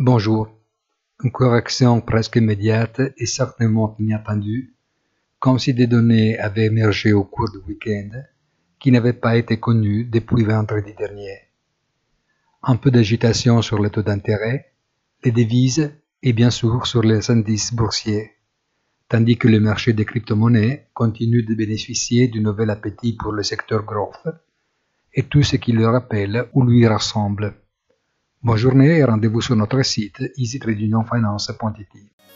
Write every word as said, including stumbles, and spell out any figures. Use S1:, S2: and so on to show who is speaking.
S1: Bonjour. Une correction presque immédiate et certainement inattendue, comme si des données avaient émergé au cours du week-end qui n'avaient pas été connues depuis vendredi dernier. Un peu d'agitation sur les taux d'intérêt, les devises et bien sûr sur les indices boursiers, tandis que le marché des crypto-monnaies continue de bénéficier du nouvel appétit pour le secteur growth et tout ce qui le rappelle ou lui ressemble. Bonne journée et rendez-vous sur notre site easy trading finance point i t.